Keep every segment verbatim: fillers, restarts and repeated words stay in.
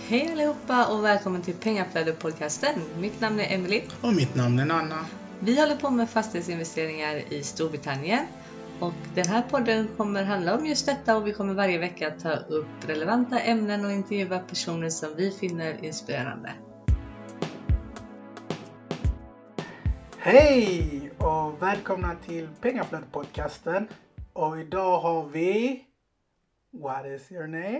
Hej allihopa och välkommen till Pengaflödet-podcasten. Mitt namn är Emily. Och mitt namn är Anna. Vi håller på med fastighetsinvesteringar i Storbritannien. Och den här podden kommer handla om just detta och vi kommer varje vecka ta upp relevanta ämnen och intervjua personer som vi finner inspirerande. Hej och välkomna till Pengaflödet-podcasten. Och idag har vi... What is your name?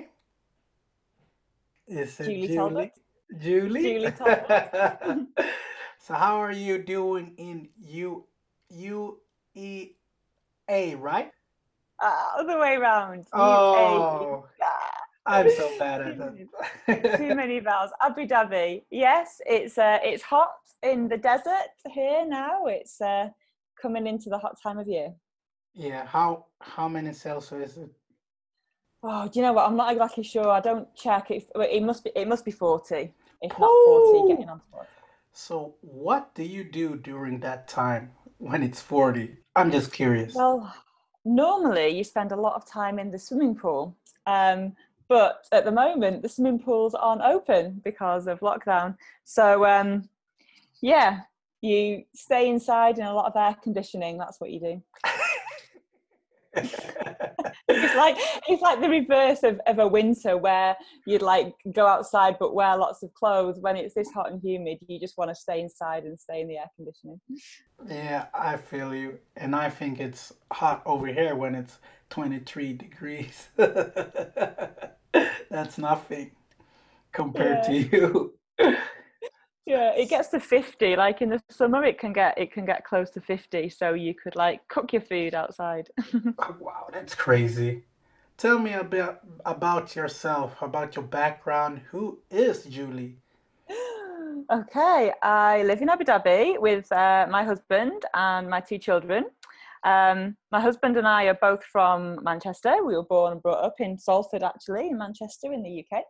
Is it Julie Julie? Talbot. Julie? Julie Talbot. So how are you doing in U U E A, right? Uh, other way around. Oh, U A. I'm so bad at that. Too many vowels. Abu Dhabi. Yes, it's uh, it's hot in the desert here now. It's uh, coming into the hot time of year. Yeah, how how many Celsius is it? Oh, do you know what? I'm not exactly sure. I don't check. It, it must be it must be forty, if not forty, getting on to forty. So what do you do during that time when it's forty? I'm just curious. Well, normally you spend a lot of time in the swimming pool. Um, but at the moment, the swimming pools aren't open because of lockdown. So, um, yeah, you stay inside in a lot of air conditioning. That's what you do. It's like it's like the reverse of, of a winter where you'd like go outside but wear lots of clothes. When it's this hot and humid, you just want to stay inside and stay in the air conditioning. Yeah, I feel you. And I think it's hot over here when it's twenty-three degrees. That's nothing compared Yeah. to you. Yeah, it gets to fifty. Like in the summer, it can get it can get close to fifty. So you could like cook your food outside. Oh, wow, that's crazy. Tell me about about yourself, about your background. Who is Julie? Okay, I live in Abu Dhabi with uh, my husband and my two children. Um, my husband and I are both from Manchester. We were born and brought up in Salford, actually, in Manchester, in the U K.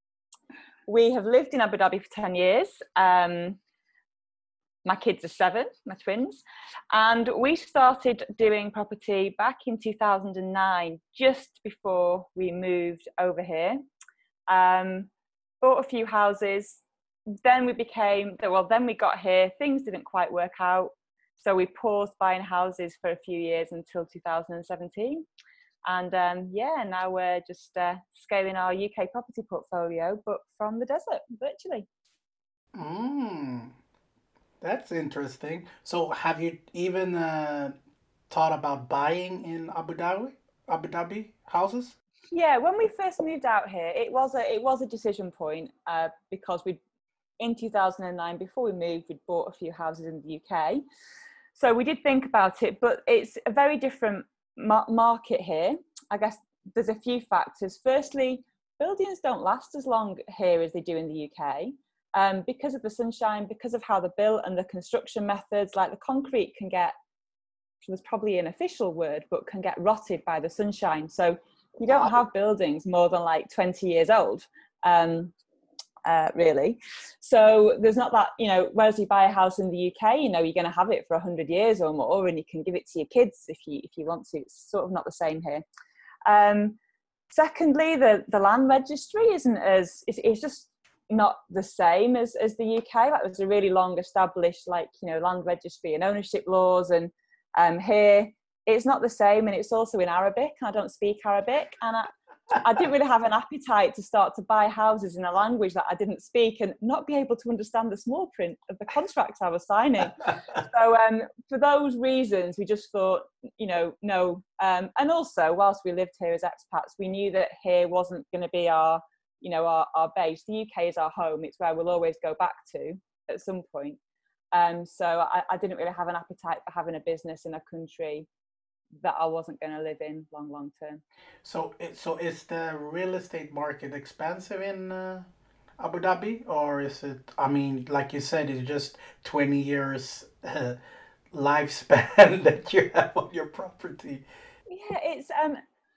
We have lived in Abu Dhabi for ten years. Um, my kids are seven, my twins. And we started doing property back in two thousand nine, just before we moved over here. Um, bought a few houses. Then we became, well, then we got here. Things didn't quite work out. So we paused buying houses for a few years until two thousand seventeen. And um, yeah, now we're just uh, scaling our U K property portfolio, but from the desert, virtually. Mm, that's interesting. So have you even uh, thought about buying in Abu Dhabi, Abu Dhabi houses? Yeah, when we first moved out here, it was a it was a decision point uh, because we, in two thousand nine, before we moved, we'd bought a few houses in the U K. So we did think about it, but it's a very different ma- market here. I guess there's a few factors. Firstly, buildings don't last as long here as they do in the U K um, because of the sunshine, because of how they're built and the construction methods. Like the concrete can get, there's probably an official word, but can get rotted by the sunshine. So you don't have buildings more than like twenty years old. Um, Uh, really. So there's not that, you know, whereas you buy a house in the U K, you know, you're going to have it for one hundred years or more and you can give it to your kids if you if you want to. It's sort of not the same here. Um, secondly, the, the land registry isn't as, it's, it's just not the same as, as the U K. Like there's a really long established, like, you know, land registry and ownership laws. And um, here it's not the same. And it's also in Arabic. I don't speak Arabic. And I, I didn't really have an appetite to start to buy houses in a language that I didn't speak and not be able to understand the small print of the contracts I was signing. So um, for those reasons, we just thought, you know, no. Um, and also, whilst we lived here as expats, we knew that here wasn't going to be our, you know, our, our base. The U K is our home. It's where we'll always go back to at some point. Um, so I, I didn't really have an appetite for having a business in a country that I wasn't going to live in long, long term. So, it, so is the real estate market expensive in uh, Abu Dhabi, or is it? I mean, like you said, it's just twenty years uh, lifespan that you have on your property. Yeah, it's um,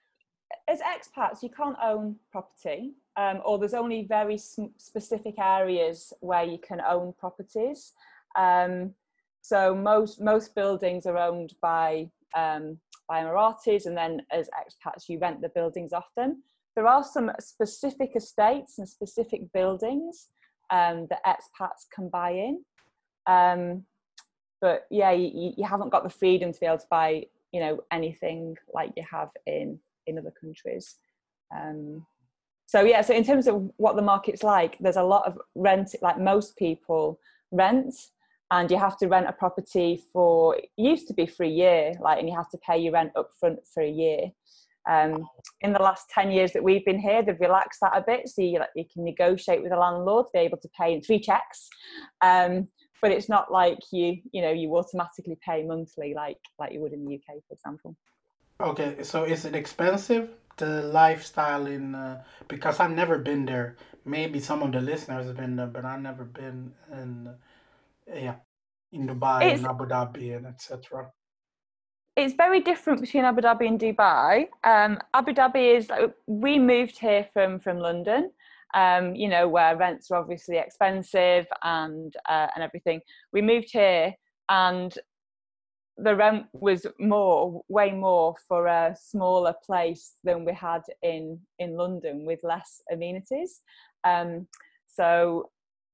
as expats, you can't own property, um, or there's only very sm- specific areas where you can own properties. Um, so most most buildings are owned by um, by Emiratis, and then as expats you rent the buildings off them. there are some specific estates and specific buildings um, that expats can buy in. Um, but yeah, you, you haven't got the freedom to be able to buy, you know, anything like you have in, in other countries. Um, so yeah, so in terms of what the market's like, there's a lot of rent, like most people rent, and you have to rent a property for, it used to be for a year, like, and you have to pay your rent up front for a year. Um, in the last ten years that we've been here, they've relaxed that a bit, so you, like, you can negotiate with the landlord to be able to pay in three checks. Um, but it's not like you, you know, you automatically pay monthly like like you would in the U K, for example. Okay, so is it expensive, the lifestyle in? Uh, because I've never been there. Maybe some of the listeners have been there, but I've never been in. Uh, yeah, in Dubai It's, and Abu Dhabi and et cetera. It's very different between Abu Dhabi and Dubai. Um, Abu Dhabi is, like, we moved here from from London, um, you know, where rents are obviously expensive and uh, and everything. We moved here, and the rent was more, way more for a smaller place than we had in in London with less amenities. Um, so,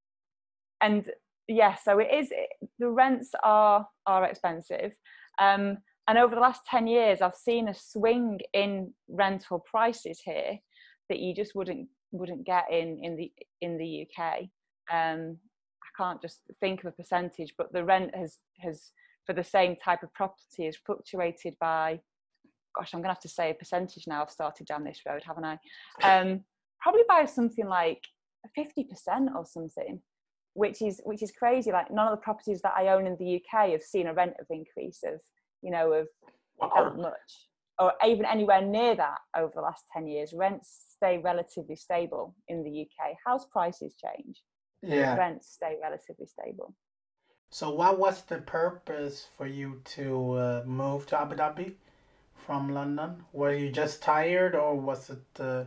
and yeah, so it is. The rents are are expensive. Um, And over the last ten years, I've seen a swing in rental prices here that you just wouldn't wouldn't get in in the in the U K. Um, I can't just think of a percentage, but the rent has has for the same type of property has fluctuated by, gosh, I'm gonna have to say a percentage now. I've started down this road, haven't I? Um, probably by something like fifty percent or something, which is which is crazy. Like, none of the properties that I own in the U K have seen a rent of increase of, you know, of that much, or even anywhere near that over the last ten years. Rents stay relatively stable in the U K. House prices change, yeah, but rents stay relatively stable. So what was the purpose for you to uh, move to Abu Dhabi from London? Were you just tired, or was it uh,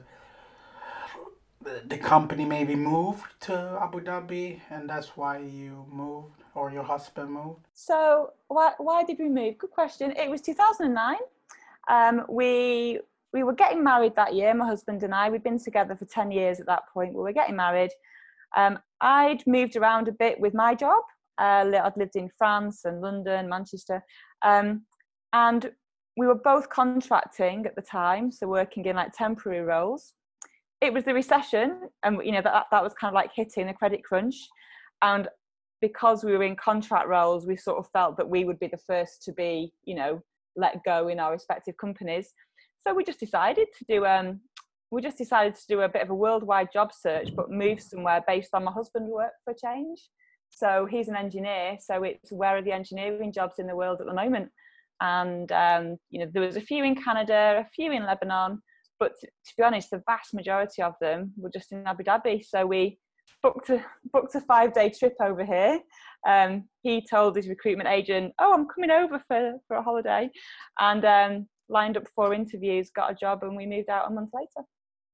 the company maybe moved to Abu Dhabi and that's why you moved, or your husband moved? So why why did we move? Good question. It was two thousand nine. Um, we we were getting married that year, my husband and I. We'd been together for ten years at that point. We were getting married. Um, I'd moved around a bit with my job. Uh, I'd lived in France and London, Manchester. Um, and we were both contracting at the time, so working in like temporary roles. It was the recession, and you know that that was kind of like hitting a credit crunch. And because we were in contract roles, we sort of felt that we would be the first to be, you know, let go in our respective companies. So we just decided to do um we just decided to do a bit of a worldwide job search, but move somewhere based on my husband's work for a change. So he's an engineer, so it's where are the engineering jobs in the world at the moment? And um, you know, there was a few in Canada, a few in Lebanon, but to, to be honest, the vast majority of them were just in Abu Dhabi. So we booked a booked a five day trip over here. Um, he told his recruitment agent, "Oh, I'm coming over for, for a holiday," and um, lined up four interviews, got a job, and we moved out a month later.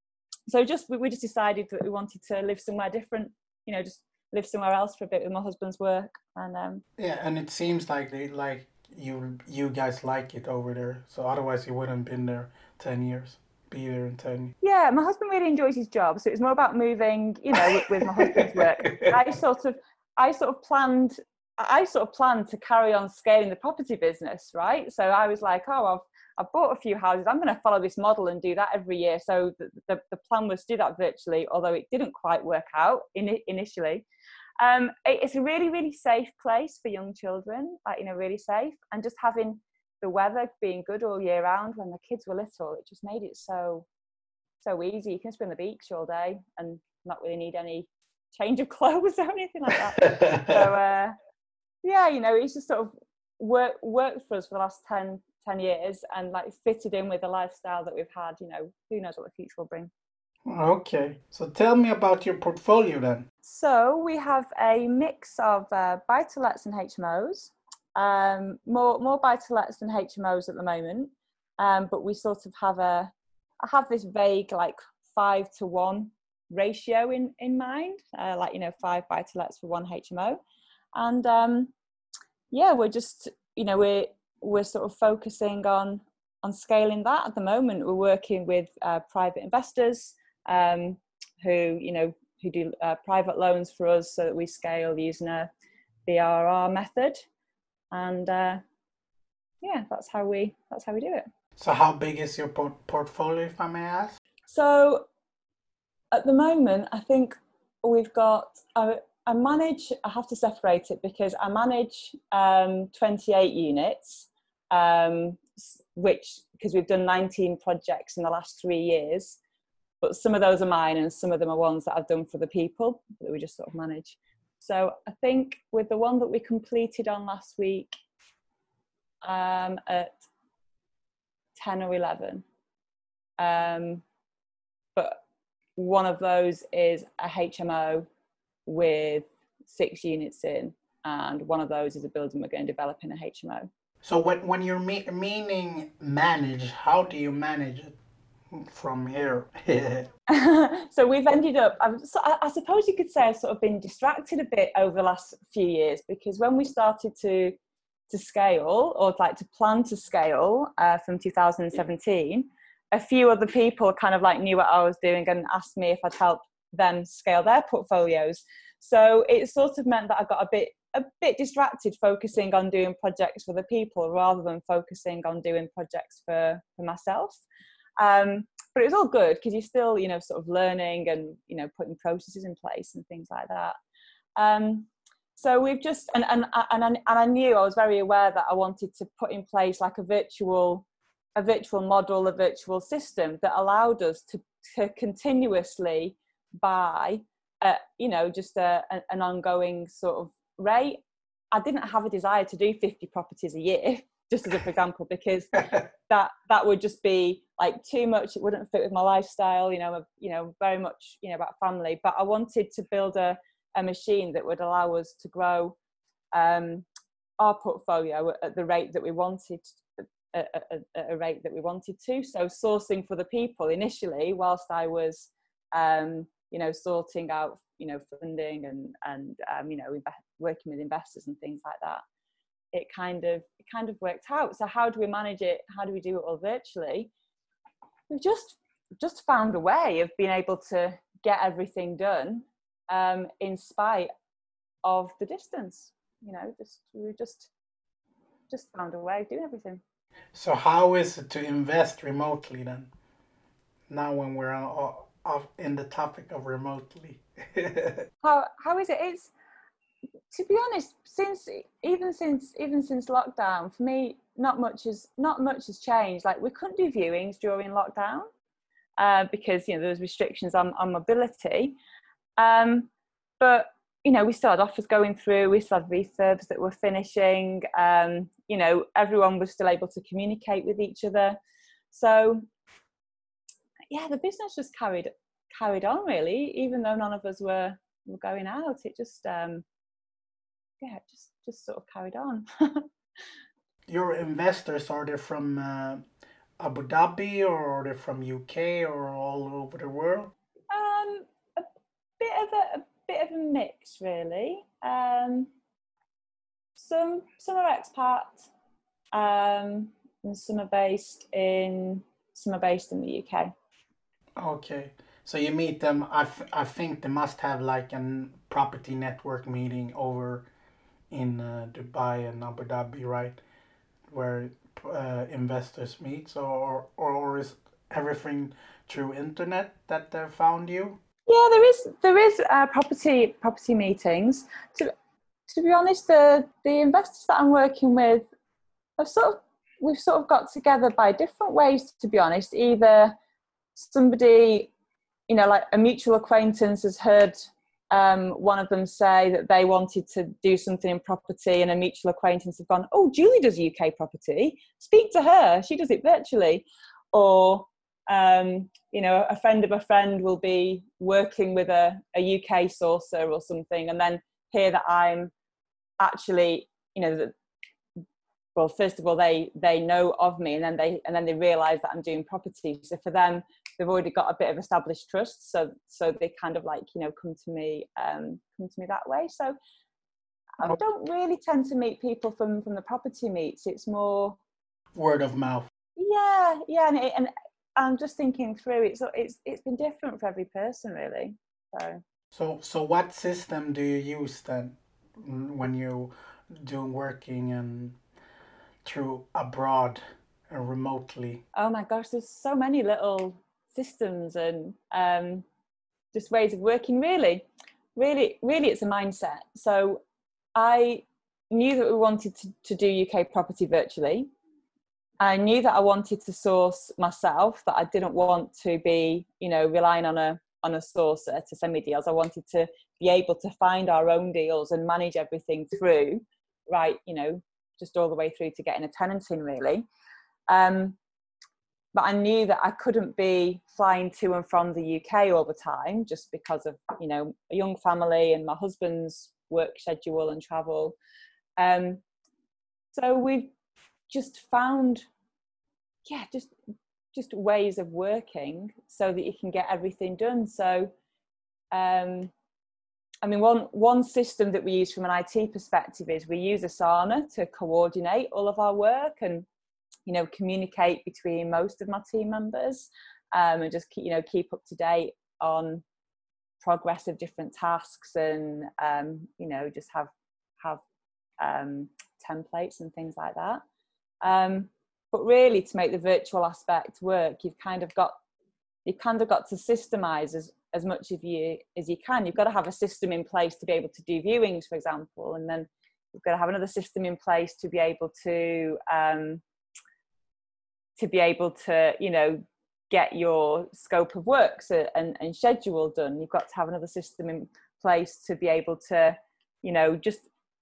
So just we, we just decided that we wanted to live somewhere different, you know, just live somewhere else for a bit with my husband's work. And um, yeah, and it seems like they like you you guys like it over there. So otherwise you wouldn't been there ten years. Be there in ten. Yeah, my husband really enjoys his job, so it was more about moving, you know, with, with my husband's work. I sort of, I sort of planned, I sort of planned to carry on scaling the property business, right? So I was like, oh, I've, I've bought a few houses. I'm going to follow this model and do that every year. So the, the, the plan was to do that virtually, although it didn't quite work out in, initially. Um, it, it's a really, really safe place for young children, like, you know, really safe, and just having the weather being good all year round. When the kids were little, it just made it so so easy. You can just be on the beach all day and not really need any change of clothes or anything like that. So uh, yeah, you know, it's just sort of work, worked for us for the last ten, ten years, and like fitted in with the lifestyle that we've had. You know, who knows what the future will bring. Okay, so tell me about your portfolio then. So we have a mix of uh, buy-to-lets and H M Os. Um, more more buy-to-lets than H M Os at the moment, um, but we sort of have a I have this vague like five to one ratio in in mind, uh, like, you know, five buy-to-lets for one H M O, and um, yeah, we're just, you know, we're we're sort of focusing on on scaling that. At the moment, we're working with uh, private investors um, who, you know, who do uh, private loans for us so that we scale using a B R R method. And uh, yeah, that's how we that's how we do it. So how big is your por- portfolio, if I may ask? So at the moment, I think we've got, I, I manage, I have to separate it because I manage um, twenty-eight units, um, which, because we've done nineteen projects in the last three years, but some of those are mine and some of them are ones that I've done for the people that we just sort of manage. So I think with the one that we completed on last week um, at ten or eleven, um, but one of those is a H M O with six units in, and one of those is a building we're going to develop in a H M O. So when, when you're me- meaning manage, how do you manage it from here? So we've ended up, I've, so I, I suppose you could say I've sort of been distracted a bit over the last few years, because when we started to to scale, or like to plan to scale uh, from two thousand seventeen, a few other people kind of like knew what I was doing and asked me if I'd help them scale their portfolios. So it sort of meant that I got a bit a bit distracted focusing on doing projects for the people rather than focusing on doing projects for, for myself. Um, but it was all good because you're still, you know, sort of learning and, you know, putting processes in place and things like that. Um, so we've just, and, and, and, and I knew, I was very aware that I wanted to put in place like a virtual, a virtual model, a virtual system that allowed us to, to continuously buy, uh, you know, just a, an ongoing sort of rate. I didn't have a desire to do fifty properties a year, just as a for example, because that that would just be like too much. It wouldn't fit with my lifestyle, you know, you know, very much, you know, about family. But I wanted to build a, a machine that would allow us to grow um, our portfolio at the rate that we wanted, at a, a, a rate that we wanted to. So sourcing for the people initially, whilst I was, um, you know, sorting out, you know, funding and and um, you know, working with investors and things like that. It kind of it kind of worked out. So how do we manage it? How do we do it all virtually? We've just just found a way of being able to get everything done um, in spite of the distance. You know, just we just just found a way of doing everything. So how is it to invest remotely then? Now when we're on, on, in the topic of remotely. how how is it? It's, to be honest, since even since even since lockdown, for me, not much has not much has changed. Like we couldn't do viewings during lockdown uh, because you know there was restrictions on, on mobility. Um, but you know we still had offers going through. We still had refurbs that were finishing. Um, you know everyone was still able to communicate with each other. So yeah, the business just carried carried on really, even though none of us were were going out. It just um, yeah, just just sort of carried on. Your investors, are they from uh, Abu Dhabi, or are they from U K, or all over the world? Um, a bit of a, a bit of a mix, really. Um, some some are expats, um, and some are based in some are based in the U K. Okay, so you meet them. I, f- I think they must have like a property network meeting over in uh, Dubai and Abu Dhabi, right? Where uh, investors meet, so or, or is everything through internet that they found you? Yeah, there is there is uh, property property meetings. To to be honest, the the investors that I'm working with have sort of we've sort of got together by different ways. To be honest, either somebody, you know, like a mutual acquaintance has heard um, one of them say that they wanted to do something in property, and a mutual acquaintance have gone, oh, Julie does U K property, speak to her, she does it virtually. Or, um, you know, a friend of a friend will be working with a, a U K sourcer or something, and then hear that I'm actually, you know, that, well, first of all, they they know of me, and then they and then they realise that I'm doing property. So for them, they've already got a bit of established trust, so so they kind of like, you know, come to me um come to me that way. So I don't really tend to meet people from from the property meets. It's more word of mouth. Yeah, yeah, and, it, and I'm just thinking through. It's it's it's been different for every person, really. So. So, so what system do you use then when you do working and through abroad and remotely? Oh my gosh, there's so many little systems and um, just ways of working. Really, really, really, it's a mindset. So I knew that we wanted to, to do U K property virtually. I knew that I wanted to source myself, that I didn't want to be, you know, relying on a on a sourcer to send me deals. I wanted to be able to find our own deals and manage everything through, right, you know, just all the way through to getting a tenant in, really. Um, but I knew that I couldn't be flying to and from the U K all the time, just because of, you know, a young family and my husband's work schedule and travel. Um, so we've just found, yeah, just just ways of working so that you can get everything done. So, um, I mean, one one system that we use from an I T perspective is we use Asana to coordinate all of our work and, you know, communicate between most of my team members, um, and just keep, you know, keep up to date on progress of different tasks, and um, you know, just have have um, templates and things like that. Um, but really, to make the virtual aspect work, you've kind of got you've kind of got to systemize as as much of you as you can. You've got to have a system in place to be able to do viewings, for example, and then you've got to have another system in place to be able to um, to be able to, you know, get your scope of works and, and schedule done. You've got to have another system in place to be able to, you know, just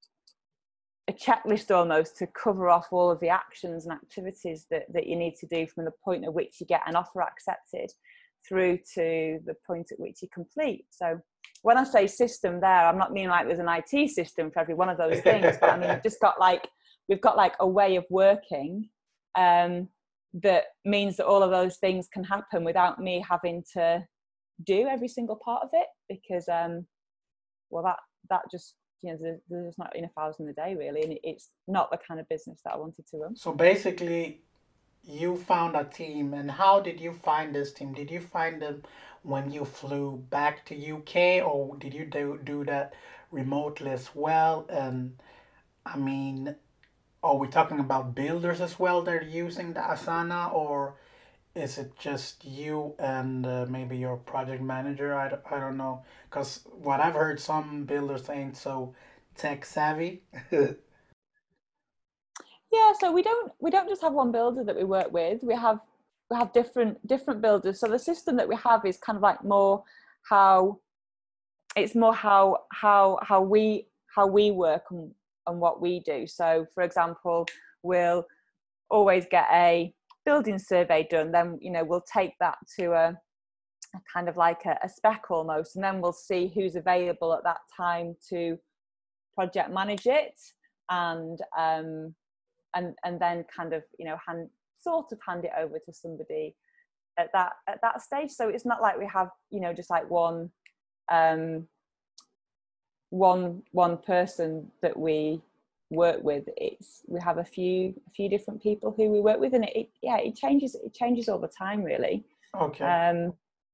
a checklist almost to cover off all of the actions and activities that, that you need to do from the point at which you get an offer accepted through to the point at which you complete. So when I say system there, I'm not meaning like there's an I T system for every one of those things, but I mean, we've just got like, we've got like a way of working um, that means that all of those things can happen without me having to do every single part of it, because, um, well, that, that just, you know, there's, there's not enough hours in the day really, and it's not the kind of business that I wanted to run. So basically, you found a team, and how did you find this team? Did you find them when you flew back to U K, or did you do, do that remotely as well? And I mean, are we talking about builders as well that are using the Asana, or is it just you and uh, maybe your project manager? I, don't- I don't know. Because what I've heard, some builders ain't so tech savvy. Yeah, so we don't we don't just have one builder that we work with. We have we have different different builders. So the system that we have is kind of like more how it's more how how how we how we work and, and what we do. So for example, we'll always get a building survey done. Then, you know, we'll take that to a, a kind of like a, a spec almost, and then we'll see who's available at that time to project manage it, and um and and then kind of, you know, hand sort of hand it over to somebody at that at that stage. So it's not like we have, you know, just like one um one one person that we work with. It's we have a few a few different people who we work with, and it, it yeah it changes it changes all the time really. Okay. um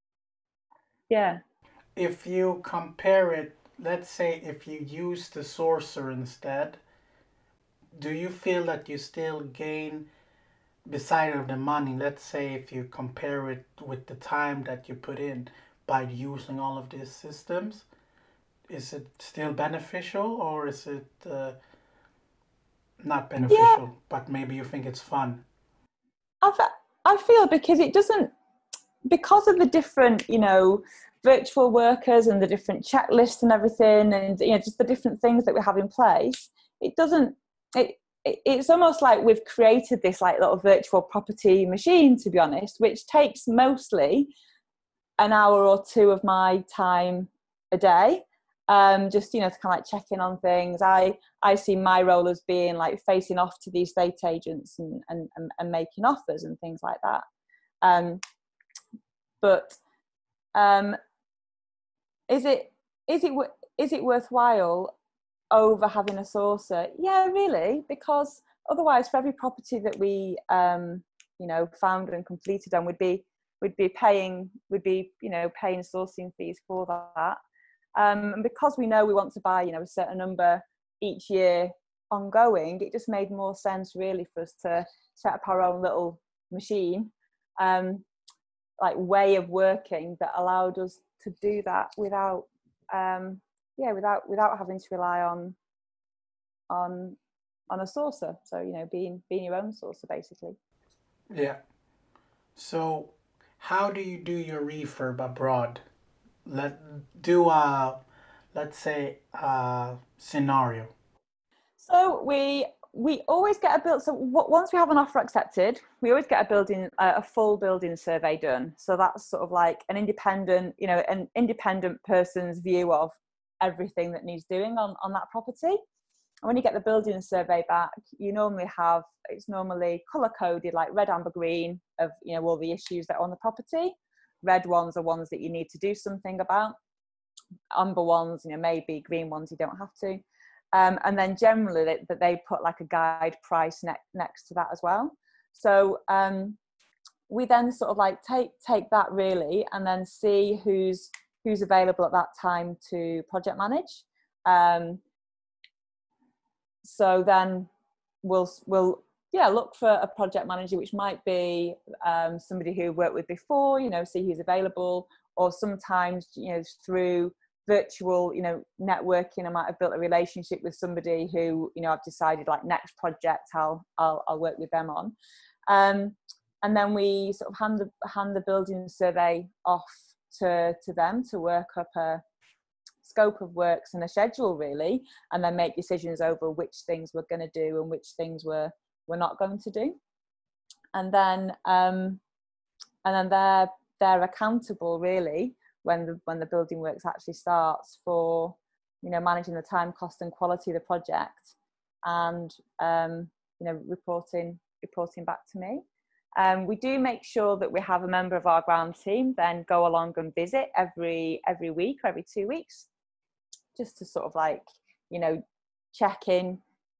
yeah If you compare it, let's say if you use the sourcer instead, do you feel that you still gain beside of the money? Let's say if you compare it with the time that you put in by using all of these systems, is it still beneficial, or is it uh, not beneficial, yeah but maybe you think it's fun? I, fe- I feel because it doesn't, because of the different, you know, virtual workers and the different checklists and everything, and, you know, just the different things that we have in place, it doesn't it, it it's almost like we've created this like little virtual property machine, to be honest, which takes mostly an hour or two of my time a day, um just, you know, to kind of like check in on things. i i see my role as being like facing off to the estate agents and and, and, and making offers and things like that. um but um is it is it is it worthwhile over having a sourcer? Yeah, really, because otherwise for every property that we um you know, found and completed on, we'd be we'd be paying would be you know paying sourcing fees for that. Um, and because we know we want to buy, you know, a certain number each year ongoing, it just made more sense really for us to set up our own little machine, um, like way of working that allowed us to do that without, um, yeah, without without having to rely on on on a sourcer. So you know, being being your own sourcer basically. Yeah. So, how do you do your refurb abroad? Let do a, let's say, a scenario. So we we always get a build. So once we have an offer accepted, we always get a building a full building survey done. So that's sort of like an independent, you know, an independent person's view of everything that needs doing on on that property. And when you get the building survey back, you normally have, it's normally colour coded, like red, amber, green, of, you know, all the issues that are on the property. Red ones are ones that you need to do something about. Amber ones, you know, maybe. Green ones you don't have to. Um, and then generally that they, they put like a guide price ne- next to that as well. So um, we then sort of like take take that really, and then see who's who's available at that time to project manage. Um, so then we'll we'll yeah look for a project manager, which might be um, somebody who we've worked with before, you know, see who's available, or sometimes, you know, through virtual, you know, networking, I might have built a relationship with somebody who, you know, I've decided like next project I'll I'll, I'll work with them on, um, and then we sort of hand the hand the building survey off to to them to work up a scope of works and a schedule really, and then make decisions over which things we're going to do and which things we're we're not going to do, and then um, and then they're they're accountable really when the when the building works actually starts for, you know, managing the time, cost and quality of the project, and um, you know, reporting reporting back to me. Um, we do make sure that we have a member of our ground team then go along and visit every every week or every two weeks, just to sort of like, you know, check in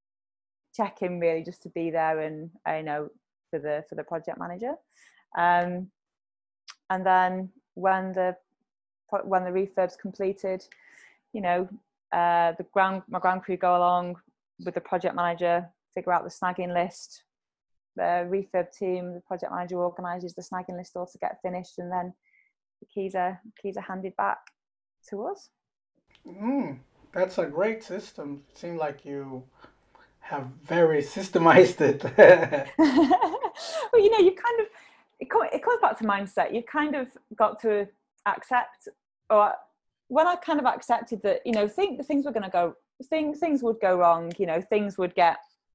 check in really, just to be there and, you know, for the for the project manager. Um, and then when the when the refurb's completed, you know, uh, the ground my ground crew go along with the project manager, figure out the snagging list. The refurb team, the project manager organises the snagging list all to get finished, and then the keys are keys are handed back to us. Mm, that's a great system. It seems like you have very systemized it. Well, you know, you kind of it, it comes back to mindset. You kind of got to accept, or when I kind of accepted that, you know, think things were going to go, things things would go wrong. You know, things would get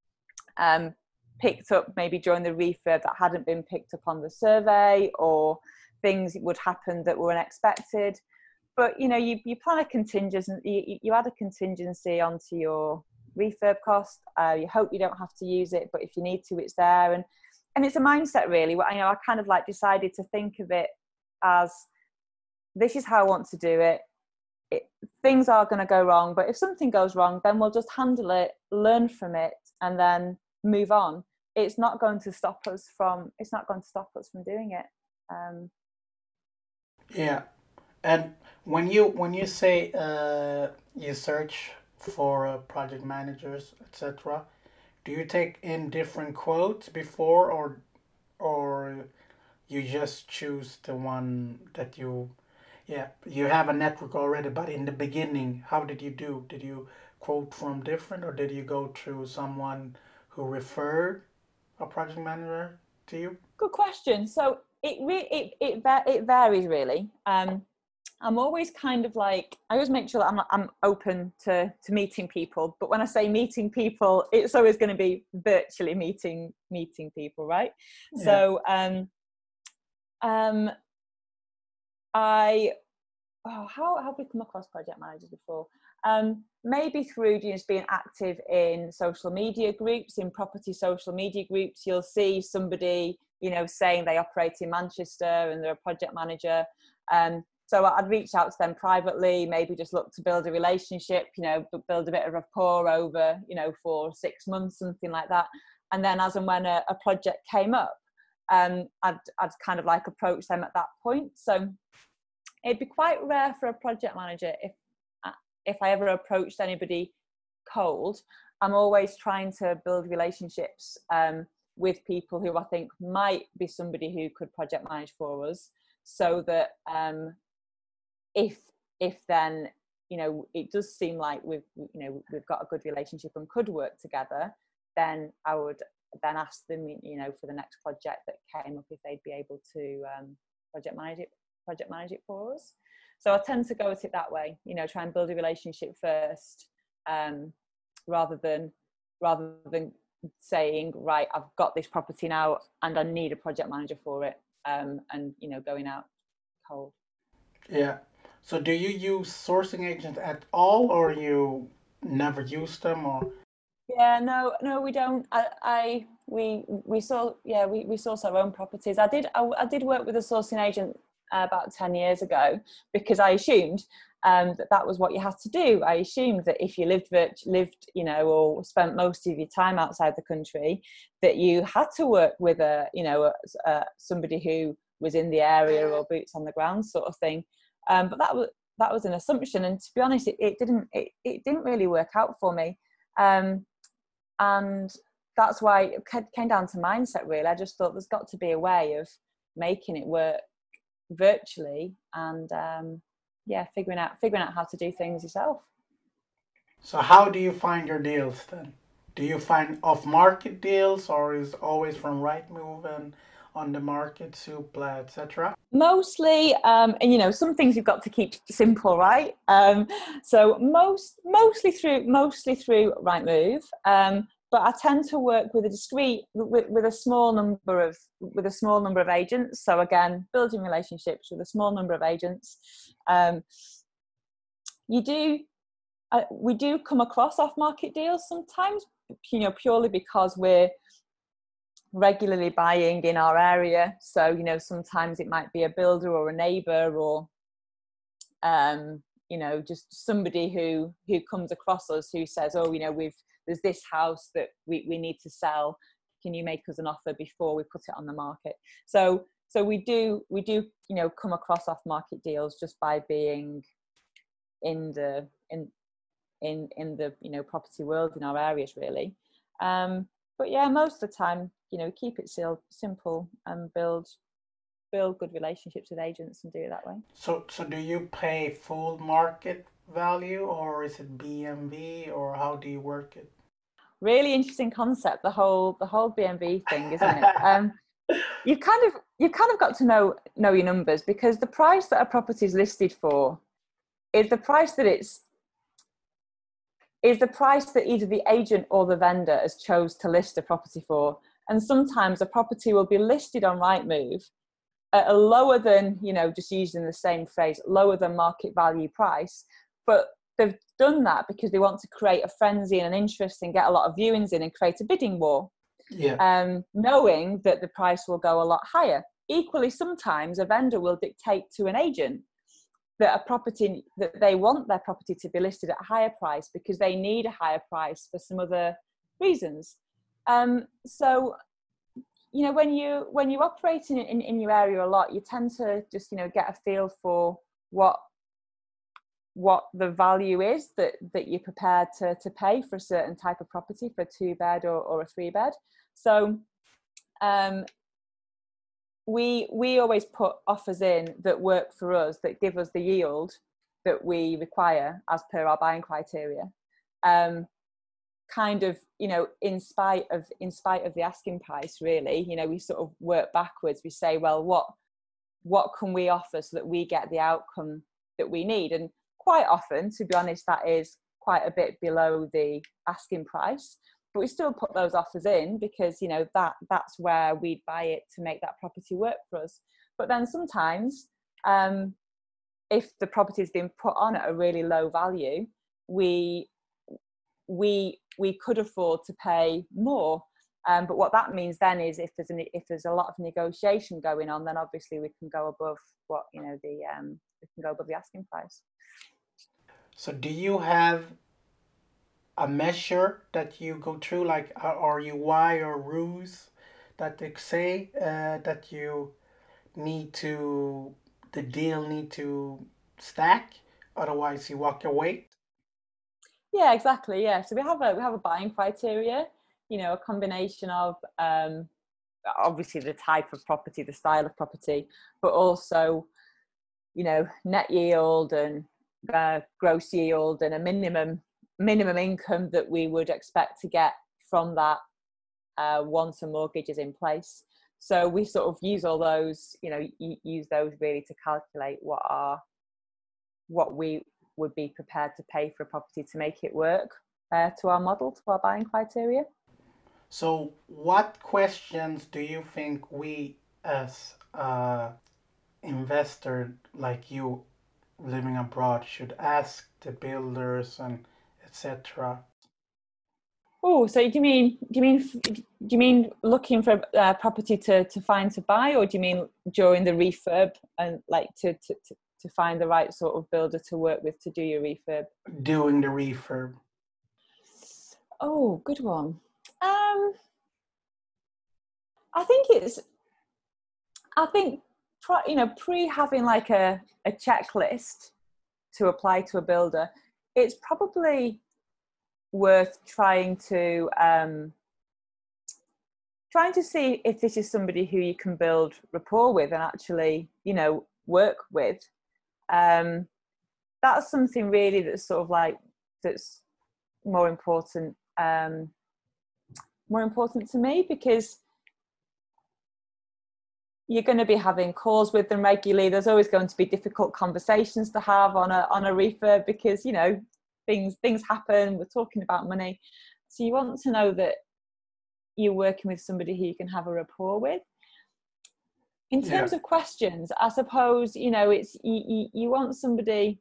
um, picked up maybe during the refurb that hadn't been picked up on the survey, or things would happen that were unexpected. But, you know, you, you plan a contingency, you, you add a contingency onto your refurb cost. Uh, you hope you don't have to use it, but if you need to, it's there. And and it's a mindset really. You know, I kind of like decided to think of it as, this is how I want to do it. it things are going to go wrong, but if something goes wrong, then we'll just handle it, learn from it, and then move on. It's not going to stop us from, it's not going to stop us from doing it. Um, yeah. And when you when you say uh, you search for uh, project managers, et cetera, do you take in different quotes before, or or you just choose the one that you, yeah, you have a network already, but in the beginning, how did you do? Did you quote from different, or did you go through someone who referred a project manager to you? Good question. So it re- it it it varies really. Um, I'm always kind of like, I always make sure that I'm I'm open to to meeting people. But when I say meeting people, it's always going to be virtually meeting meeting people, right? Yeah. So um, um, I oh, how, how have we come across project managers before? Um, maybe through just being active in social media groups, in property social media groups. You'll see somebody, you know, saying they operate in Manchester and they're a project manager. Um, so I'd reach out to them privately, maybe just look to build a relationship, you know, build a bit of rapport over, you know, for six months, something like that. And then as and when a, a project came up, um, I'd, I'd kind of like approach them at that point. So it'd be quite rare for a project manager if if I ever approached anybody cold. I'm always trying to build relationships um, with people who I think might be somebody who could project manage for us, so that um, if if then you know it does seem like we've you know we've got a good relationship and could work together, then I would then ask them you know for the next project that came up if they'd be able to um, project manage it project manage it for us. So I tend to go at it that way, you know, try and build a relationship first, um, rather than rather than saying, right, I've got this property now and I need a project manager for it, um, and you know, going out cold. Yeah. So do you use sourcing agents at all, or you never use them, or? Yeah, no, no, we don't. I, I we we saw, yeah, we, we source our own properties. I did, I, I did work with a sourcing agent uh, about ten years ago, because I assumed um, that that was what you had to do. I assumed that if you lived, lived, you know, or spent most of your time outside the country, that you had to work with a, you know, a, a, somebody who was in the area or boots on the ground sort of thing. Um, but that was that was an assumption, and to be honest, it, it didn't it, it didn't really work out for me. Um, and that's why it came down to mindset, really. I just thought there's got to be a way of making it work virtually, and um, yeah, figuring out figuring out how to do things yourself. So how do you find your deals then? Do you find off-market deals, or is it always from Rightmove and on the market, Zoopla, et cetera? Mostly, um, and you know, some things you've got to keep simple, right? Um, so most, mostly through, mostly through Rightmove. Um, but I tend to work with a discrete, with, with a small number of, with a small number of agents. So again, building relationships with a small number of agents. Um, you do, uh, we do come across off-market deals sometimes, you know, purely because we're regularly buying in our area. So, you know, sometimes it might be a builder or a neighbour, or um, you know, just somebody who who comes across us who says, oh, you know, we've there's this house that we, we need to sell. Can you make us an offer before we put it on the market? So so we do we do, you know, come across off market deals just by being in the in in in the, you know, property world in our areas, really. Um, but yeah, most of the time, you know, keep it simple and build build good relationships with agents and do it that way. So so do you pay full market value, or is it B M V, or how do you work it? Really interesting concept, the whole the whole B M V thing, isn't it? um, you kind of you kind of got to know know your numbers, because the price that a property is listed for is the price that it's is the price that either the agent or the vendor has chose to list a property for. And sometimes a property will be listed on Rightmove at a lower than, you know, just using the same phrase, lower than market value price. But they've done that because they want to create a frenzy and an interest and get a lot of viewings in and create a bidding war. Yeah. Um, knowing that the price will go a lot higher. Equally, sometimes a vendor will dictate to an agent that a property, that they want their property to be listed at a higher price because they need a higher price for some other reasons. Um, so, you know, when you when you're operating in, in your area a lot, you tend to just, you know, get a feel for what what the value is that that you're prepared to to pay for a certain type of property, for a two bed or, or a three bed. So um we we always put offers in that work for us, that give us the yield that we require as per our buying criteria, um kind of, you know, in spite of in spite of the asking price, really. You know, we sort of work backwards. We say, well, what what can we offer so that we get the outcome that we need? And quite often, to be honest, that is quite a bit below the asking price, but we still put those offers in because, you know, that that's where we'd buy it to make that property work for us. But then sometimes, um, if the property has been put on at a really low value, we we we could afford to pay more. Um, but what that means then is if there's an, if there's a lot of negotiation going on, then obviously we can go above what, you know, the um, we can go above the asking price. So do you have a measure that you go through, like R U Y or R U S, that they say uh, that you need to, the deal need to stack, otherwise you walk away? Yeah, exactly. Yeah. So we have a we have a buying criteria, you know, a combination of um, obviously the type of property, the style of property, but also, you know, net yield and uh, gross yield and a minimum minimum income that we would expect to get from that uh, once a mortgage is in place. So we sort of use all those, you know, use those really to calculate what are what we would be prepared to pay for a property to make it work uh, to our model, to our buying criteria. So what questions do you think we as uh, investor like you living abroad should ask the builders and et cetera? Oh, so do you mean do you mean do you mean looking for a uh, property to, to find to buy, or do you mean during the refurb and like to, to, to, to find the right sort of builder to work with to do your refurb? Doing the refurb. Oh, good one. Um, I think it's. I think you know pre having like a, a checklist to apply to a builder, it's probably worth trying to um, trying to see if this is somebody who you can build rapport with and actually, you know, work with. Um, that's something really that's sort of like that's more important, um, more important to me, because you're going to be having calls with them regularly. There's always going to be difficult conversations to have on a on a refurb because, you know, things things happen. We're talking about money, so you want to know that you're working with somebody who you can have a rapport with. In terms yeah. of questions, I suppose, you know, it's you, you, you want somebody.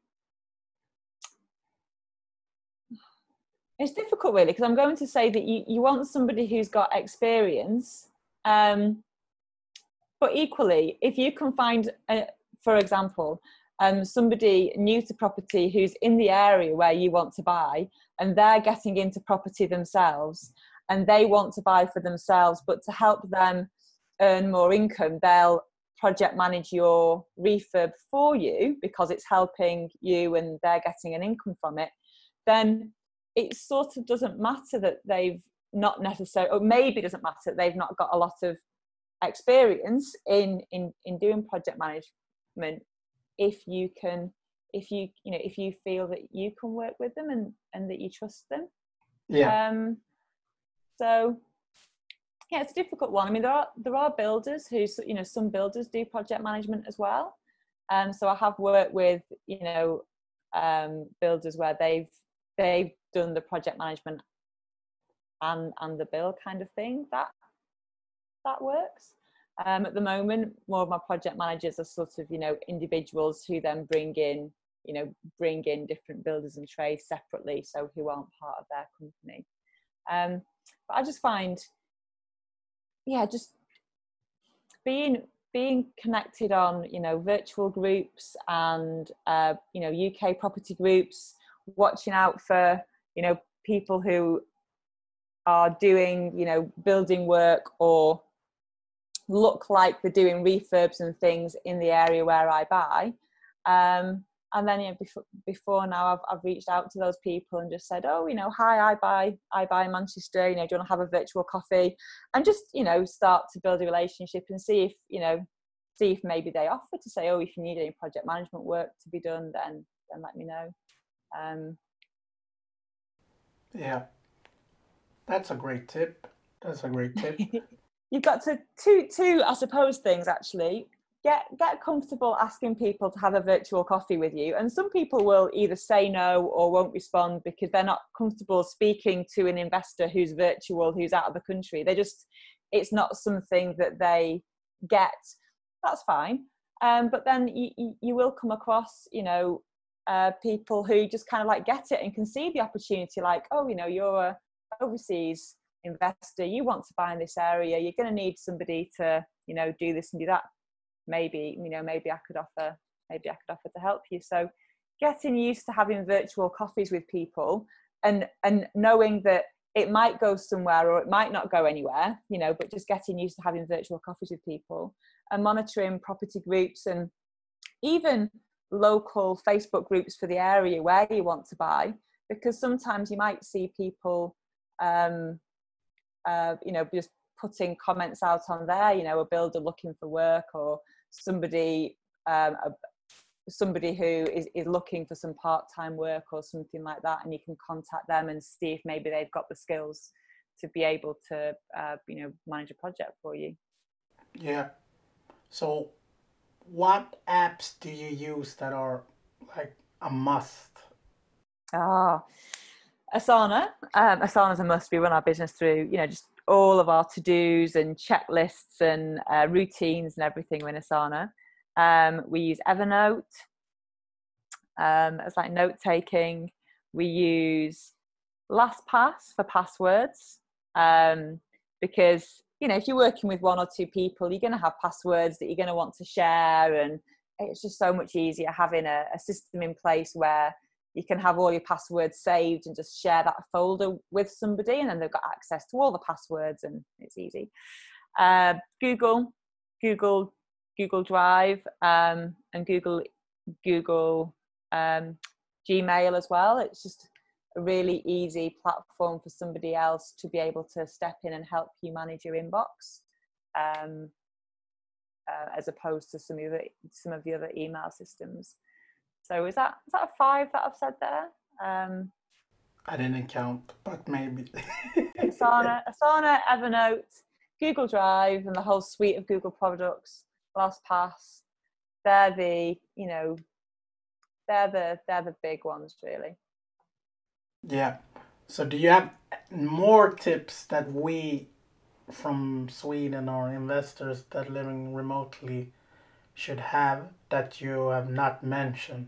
It's difficult really, because I'm going to say that you, you want somebody who's got experience. Um, but equally, if you can find, a, for example, um, somebody new to property who's in the area where you want to buy, and they're getting into property themselves, and they want to buy for themselves, but to help them earn more income, they'll project manage your refurb for you because it's helping you and they're getting an income from it, then it sort of doesn't matter that they've not necessarily, or maybe it doesn't matter that they've not got a lot of experience in in in doing project management, if you can if you you know if you feel that you can work with them and and that you trust them. Yeah. Um so yeah, it's a difficult one. I mean, there are there are builders who, you know, some builders do project management as well. Um so I have worked with, you know, um builders where they've they've done the project management and and the bill kind of thing. That that works. Um, at the moment, more of my project managers are sort of, you know, individuals who then bring in, you know, bring in different builders and trades separately, so who aren't part of their company. Um, but I just find, yeah, just being being connected on, you know, virtual groups and uh, you know, U K property groups, watching out for, you know, people who are doing, you know, building work or look like they're doing refurbs and things in the area where I buy. Um, and then, you know, before, before now I've, I've reached out to those people and just said, oh, you know, hi, I buy, I buy in Manchester, you know, do you want to have a virtual coffee? And just, you know, start to build a relationship and see if, you know, see if maybe they offer to say, oh, if you need any project management work to be done, then, then let me know. Um, yeah, that's a great tip. That's a great tip. You've got to two two I suppose things actually. Get get comfortable asking people to have a virtual coffee with you, and some people will either say no or won't respond because they're not comfortable speaking to an investor who's virtual, who's out of the country. They just, it's not something that they get. That's fine. Um, but then you, you, you will come across, you know, uh, people who just kind of like get it and can see the opportunity, like, oh, you know, you're a overseas investor, you want to buy in this area, you're going to need somebody to, you know, do this and do that. Maybe, you know, maybe I could offer, maybe I could offer to help you. So getting used to having virtual coffees with people and, and knowing that it might go somewhere or it might not go anywhere, you know, but just getting used to having virtual coffees with people and monitoring property groups and even local Facebook groups for the area where you want to buy, because sometimes you might see people, um, uh, you know, just putting comments out on there, you know, a builder looking for work or somebody, um, a, somebody who is, is looking for some part-time work or something like that, and you can contact them and see if maybe they've got the skills to be able to, uh, you know, manage a project for you. Yeah. So what apps do you use that are like a must? Ah, Asana. Um, Asana is a must. We run our business through, you know, just all of our to-dos and checklists and uh, routines and everything in Asana. Um, we use Evernote um, as like note taking. We use LastPass for passwords um, because, you know, if you're working with one or two people, you're going to have passwords that you're going to want to share, and it's just so much easier having a, a system in place where you can have all your passwords saved and just share that folder with somebody, and then they've got access to all the passwords, and it's easy. Uh, Google, Google, Google Drive, um, and Google, Google um, Gmail as well. It's just a really easy platform for somebody else to be able to step in and help you manage your inbox, um, uh, as opposed to some of the some of the other email systems. So is that is that a five that I've said there? Um, I didn't count, but maybe. Asana, Asana, Evernote, Google Drive, and the whole suite of Google products, LastPass. They're the, you know, they're the they're the big ones, really. Yeah. So do you have more tips that we from Sweden or investors that living remotely should have that you have not mentioned?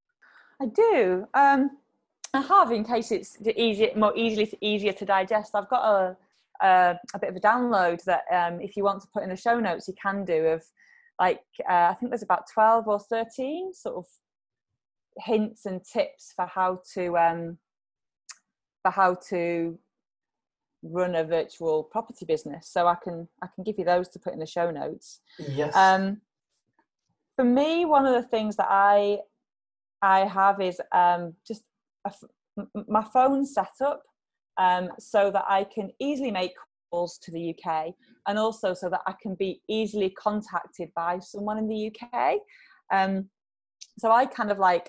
I do. Um, I have, in case it's easier, more easily easier to digest. I've got a a, a bit of a download that um, if you want to put in the show notes, you can do. Of like uh, I think there's about twelve or thirteen sort of hints and tips for how to um, for how to run a virtual property business. So I can I can give you those to put in the show notes. Yes. Um, for me, one of the things that I I have is um, just a, my phone set up um, so that I can easily make calls to the U K, and also so that I can be easily contacted by someone in the U K. Um, so I kind of like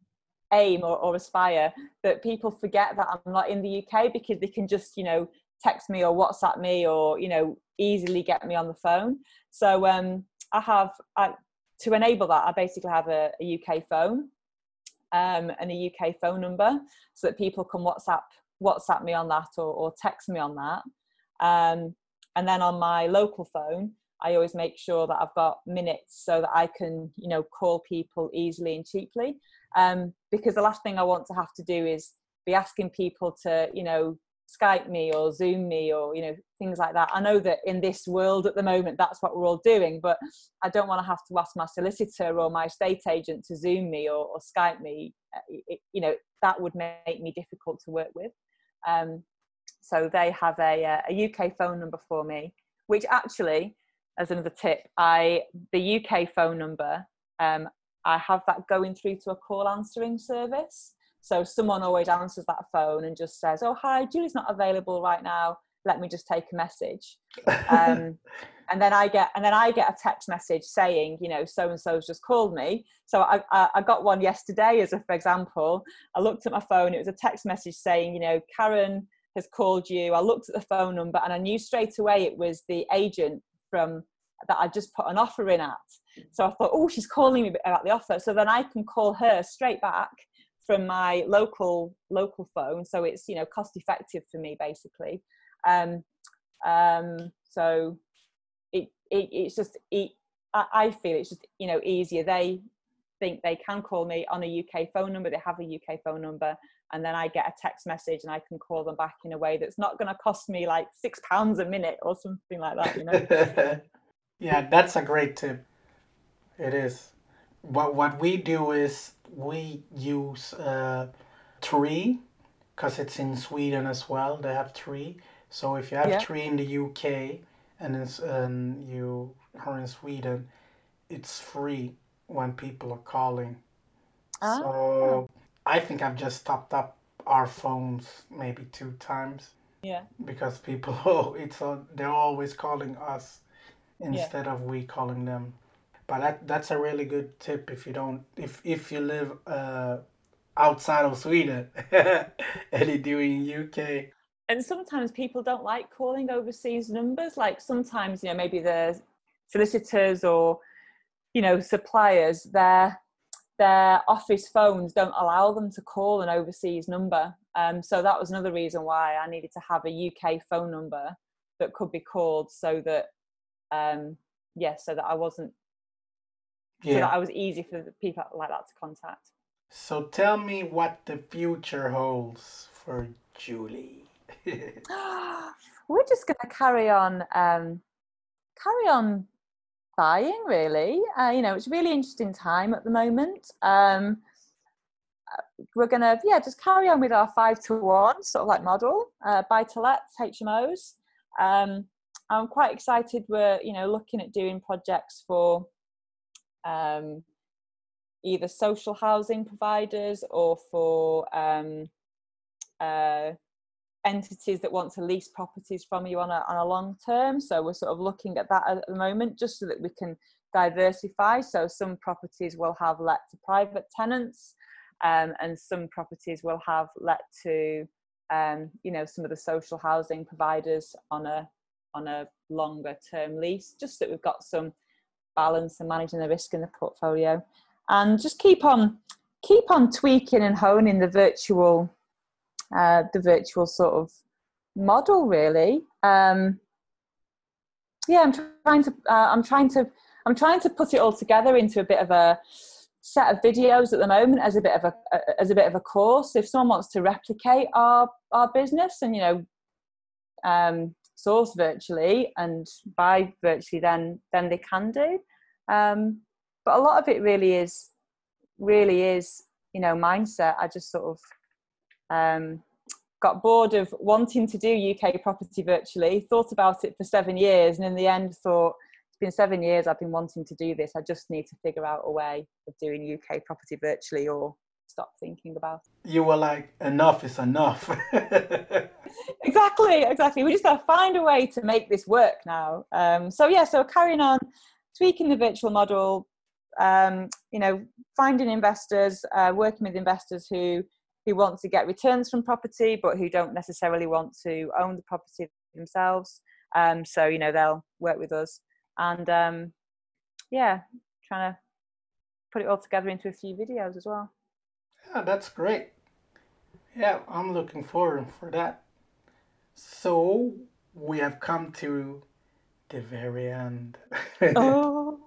aim or, or aspire that people forget that I'm not in the U K, because they can just, you know, text me or WhatsApp me or, you know, easily get me on the phone. So um, I have, I, to enable that, I basically have a, a U K phone. Um, and a U K phone number, so that people can WhatsApp WhatsApp me on that or, or text me on that. Um, and then on my local phone, I always make sure that I've got minutes so that I can, you know, call people easily and cheaply. Um, because the last thing I want to have to do is be asking people to, you know, Skype me or Zoom me or, you know, things like that. I know that in this world at the moment, that's what we're all doing, but I don't want to have to ask my solicitor or my estate agent to Zoom me or, or Skype me. It, you know, that would make me difficult to work with. Um, so they have a, a U K phone number for me, which actually, as another tip, I the U K phone number, um, I have that going through to a call answering service. So someone always answers that phone and just says, "Oh, hi, Julie's not available right now. Let me just take a message." Um, and then I get and then I get a text message saying, you know, so and so's just called me. So I, I, I got one yesterday as a, for example. I looked at my phone. It was a text message saying, you know, Karen has called you. I looked at the phone number and I knew straight away it was the agent from that I just put an offer in at. So I thought, oh, she's calling me about the offer. So then I can call her straight back from my local local phone, so it's, you know, cost effective for me basically. Um, um, so it, it it's just it, I feel it's just, you know, easier. They think they can call me on a U K phone number. They have a U K phone number, and then I get a text message and I can call them back in a way that's not going to cost me like six pounds a minute or something like that. You know. Yeah, that's a great tip. It is. What what we do is we use uh, Tree because it's in Sweden as well. They have three. So if you have Yeah. three in the U K and, it's, and you are in Sweden, it's free when people are calling. Ah. So I think I've just topped up our phones maybe two times. Yeah. Because people, oh, it's a, they're always calling us instead Yeah. of we calling them. But that that's a really good tip if you don't if if you live uh, outside of Sweden and you do in U K. And sometimes people don't like calling overseas numbers. Like sometimes, you know, maybe the solicitors or, you know, suppliers, their their office phones don't allow them to call an overseas number. Um, so that was another reason why I needed to have a U K phone number that could be called, so that, um, yeah, so that I wasn't, Yeah. so that I was easy for the people like that to contact. So tell me what the future holds for Julie. We're just going to carry on, um, carry on buying, really. Uh, you know, it's a really interesting time at the moment. Um, we're going to, yeah, just carry on with our five to one sort of like model, uh, buy to lets, H M Os. Um, I'm quite excited. We're, you know, looking at doing projects for um, either social housing providers or for um, uh, entities that want to lease properties from you on a, on a long term. So we're sort of looking at that at the moment, just so that we can diversify. So some properties will have let to private tenants, um, and some properties will have let to, um, you know, some of the social housing providers on a on a longer term lease, just so that we've got some balance and managing the risk in the portfolio, and just keep on keep on tweaking and honing the virtual uh, the virtual sort of model, really. Um, yeah, I'm trying to uh, I'm trying to I'm trying to put it all together into a bit of a set of videos at the moment, as a bit of a as a bit of a course. If someone wants to replicate our our business and, you know, um, source virtually and buy virtually, then then they can do. Um, but a lot of it really is really is you know, mindset. I just sort of um, got bored of wanting to do U K property virtually, thought about it for seven years, and in the end thought, it's been seven years I've been wanting to do this. I just need to figure out a way of doing U K property virtually, or stop thinking about it. You were like, enough is enough. Exactly, exactly. We just got to find a way to make this work now. Um, so yeah, so carrying on, tweaking the virtual model, um, you know, finding investors, uh, working with investors who who want to get returns from property, but who don't necessarily want to own the property themselves. Um, so, you know, they'll work with us, and um, yeah, trying to put it all together into a few videos as well. Yeah, that's great. Yeah, I'm looking forward for that. So we have come to the very end. Oh,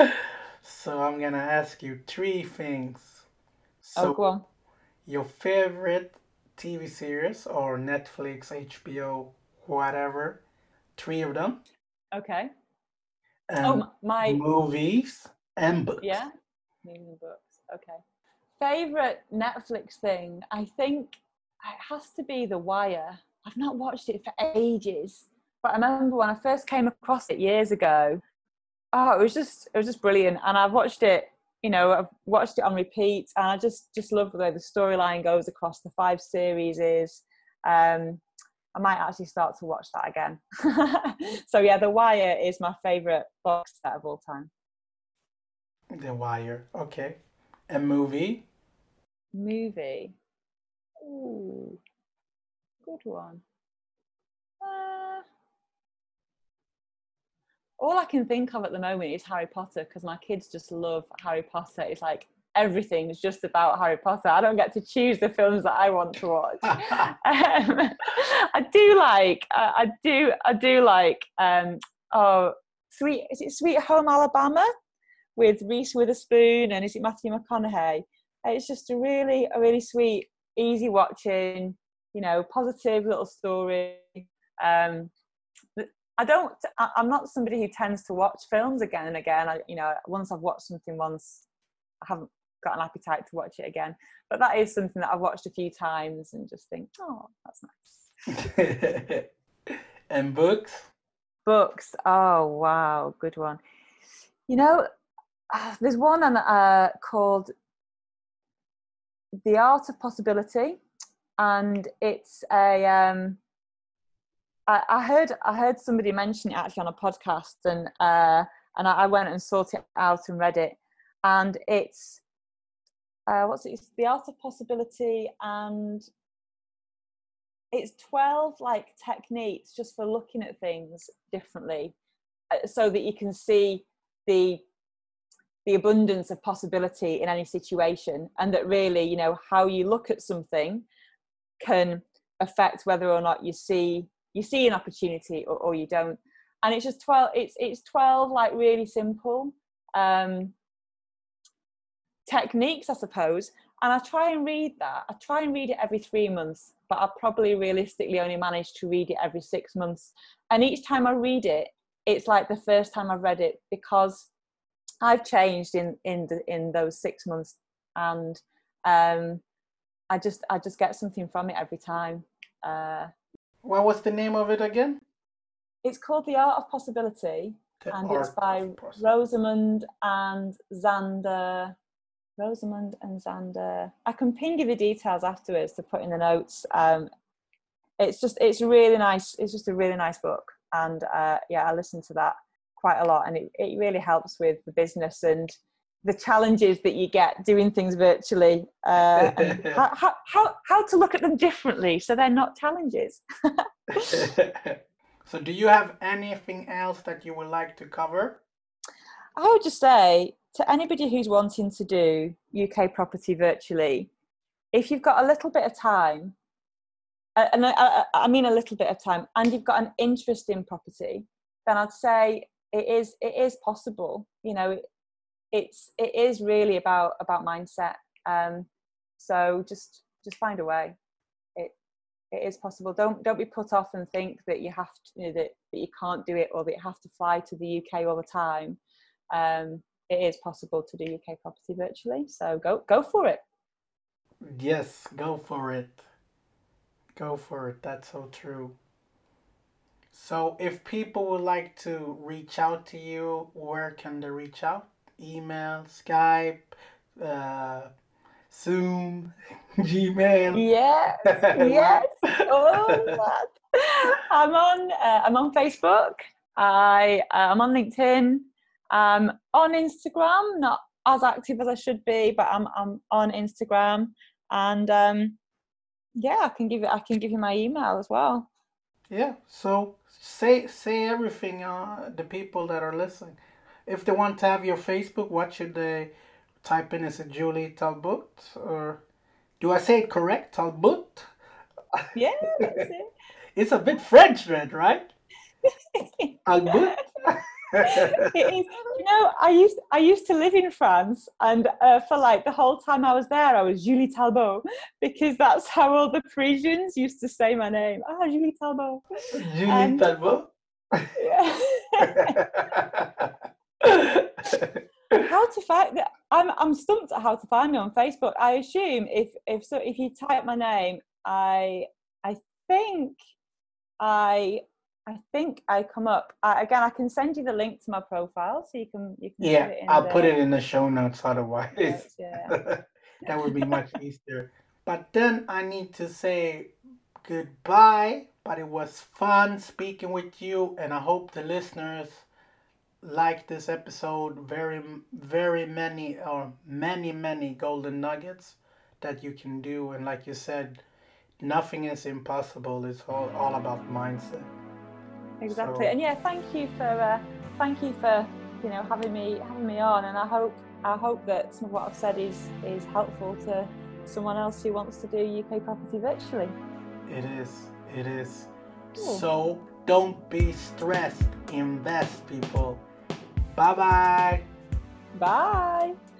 So I'm gonna ask you three things. oh, So go on. your favorite T V series or Netflix, H B O, whatever, three of them, Okay. and Oh, my, movies and books. yeah, movies and books. Okay. Favorite Netflix thing, I think it has to be The Wire. I've not watched it for ages, but I remember when I first came across it years ago. Oh, it was just it was just brilliant, and I've watched it. You know, I've watched it on repeat, and I just just love the way the storyline goes across the five series. Is um, I might actually start to watch that again. So yeah, The Wire is my favorite box set of all time. The Wire. Okay. A movie. Movie. Ooh, good one. Uh, all I can think of at the moment is Harry Potter, because my kids just love Harry Potter. It's like everything is just about Harry Potter. I don't get to choose the films that I want to watch. um, I do like, uh, I do, I do like. Um, oh, sweet, is it Sweet Home Alabama with Reese Witherspoon, and is it Matthew McConaughey? It's just a really, a really sweet, easy watching, you know, positive little story. Um, I don't, I'm not somebody who tends to watch films again and again. I, you know, once I've watched something once, I haven't got an appetite to watch it again. But that is something that I've watched a few times and just think, oh, that's nice. And books? Books. Oh, wow. Good one. You know, uh, there's one uh, called The Art of Possibility. And it's a... Um, I, I heard I heard somebody mention it actually on a podcast, and uh, and I, I went and sought it out and read it. And it's... Uh, what's it? It's The Art of Possibility, and it's twelve like techniques just for looking at things differently, uh, so that you can see the the abundance of possibility in any situation, and that really, you know, how you look at something can affect whether or not you see you see an opportunity or, or you don't. And it's just twelve. It's it's twelve like really simple um, techniques, I suppose. And I try and read that. I try and read it every three months, but I probably realistically only manage to read it every six months. And each time I read it, it's like the first time I've read it, because I've changed in in the, in those six months, and um, I just I just get something from it every time. Uh, What was the name of it again? It's called The Art of Possibility, The and Art it's by of Possibility. Rosamund and Xander. Rosamund and Xander. I can ping you the details afterwards to put in the notes. Um, it's just, it's really nice. It's just a really nice book. And uh, yeah, I listen to that quite a lot, and it, it really helps with the business and the challenges that you get doing things virtually, uh, and how, how, how, how to look at them differently so they're not challenges. So do you have anything else that you would like to cover? I would just say to anybody who's wanting to do U K property virtually, if you've got a little bit of time, and I, I mean a little bit of time, and you've got an interest in property, then I'd say it is it is possible. You know, it, it's it is really about about mindset. Um, so just just find a way. It it is possible. Don't don't be put off and think that you have to, you know, that, that you can't do it, or that you have to fly to the U K all the time. Um, it is possible to do U K property virtually. So go go for it. Yes, go for it. Go for it. That's so true. So if people would like to reach out to you, where can they reach out? Email, Skype, uh, Zoom, Gmail. Yes, yes. Oh, that. I'm on. Uh, I'm on Facebook. I uh, I'm on LinkedIn. Um, on Instagram, not as active as I should be, but I'm I'm on Instagram, and um, yeah, I can give it. I can give you my email as well. Yeah. So say say everything. Uh, the people that are listening, if they want to have your Facebook, what should they type in? Is it Julie Talbot, or do I say it correct? Talbot? Yeah, that's it. It's a bit French, right? Talbot. It is. You know, I used I used to live in France, and uh, for like the whole time I was there, I was Julie Talbot, because that's how all the Parisians used to say my name. Ah, Julie Talbot. Julie And, Talbot. Yeah. How to find that? I'm I'm stumped at how to find me on Facebook. I assume if if so if you type my name, I I think I. I think I come up. I, again, I can send you the link to my profile, so you can you can Yeah, put it in I'll the put it in the show notes. Otherwise, notes, yeah. that would be much easier. But then I need to say goodbye. But it was fun speaking with you, and I hope the listeners like this episode. Very, very many or many, many golden nuggets that you can do, and like you said, nothing is impossible. It's all all about mindset. Exactly. So, and yeah, thank you for uh, thank you for you know having me having me on, and I hope I hope that some of what I've said is is helpful to someone else who wants to do U K property virtually. It is. It is. Cool. So don't be stressed. Invest, people. Bye-bye. Bye.